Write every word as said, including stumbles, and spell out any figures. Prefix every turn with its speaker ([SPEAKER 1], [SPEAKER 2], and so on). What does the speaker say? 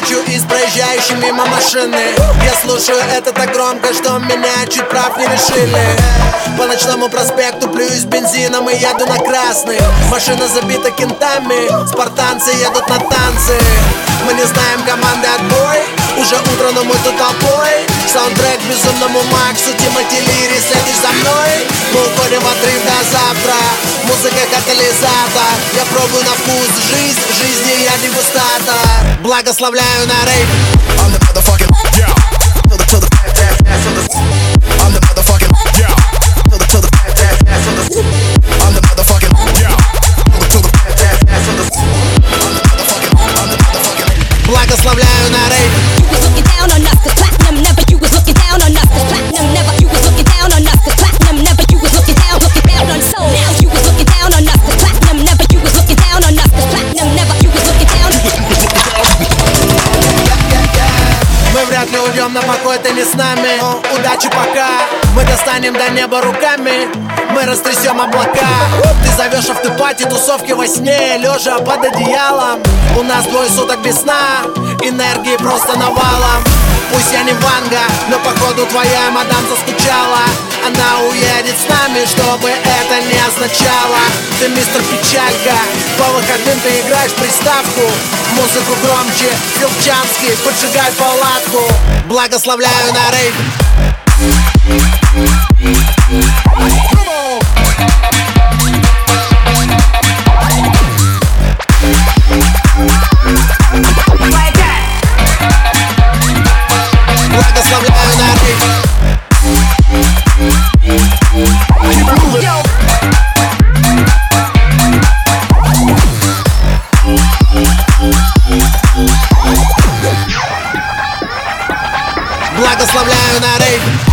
[SPEAKER 1] ночью и с проезжающей мимо машины. Я слушаю это так громко, что меня чуть прав не лишили. По ночному проспекту плююсь бензином и еду на красный. Машина забита кентами, спартанцы едут на танцы. Мы не знаем команды отбой, уже утро, но мы тут толпой. Саундтрек безумному Максу, Тимати Лири, следишь за мной. Мы уходим в отрыв до завтра, музыка катализатор. Я пробую на вкус жизнь, жизни я дегустатор. Благословляю на рейв.
[SPEAKER 2] I'm the motherfucking yeah. To the to the to the I'm the motherfucking yeah. To the to the to the I'm the motherfucking yeah. To the to the to the I'm the motherfucking I'm the motherfucking
[SPEAKER 1] Благословляю на рейв.
[SPEAKER 3] You was looking down on us, cause platinum never. You was looking down on us, cause platinum never. You was looking down on us, cause platinum never. You was looking down, looking down on soul. Now you was looking down on us, cause platinum never. You was looking down on us, cause platinum never. You was looking down.
[SPEAKER 1] Мы вряд ли уйдем на покой, ты не с нами. Но удачи пока. Мы достанем до неба руками, мы растрясем облака. Ты зовешь автопати, тусовки во сне, лежа под одеялом. У нас двое суток без сна, энергии просто навалом. Пусть я не Ванга, но походу твоя мадам заскучала. Она уедет с нами, чтобы это не означало. Ты мистер Печалька, по выходным ты играешь приставку. Музыку громче, Филчанский, поджигай палатку. Благословляю на рейв. Благословляю на рейв. Благословляю на рейв.